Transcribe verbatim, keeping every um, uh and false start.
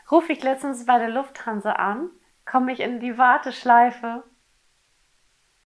rufe ich letztens bei der Lufthansa an, komme ich in die Warteschleife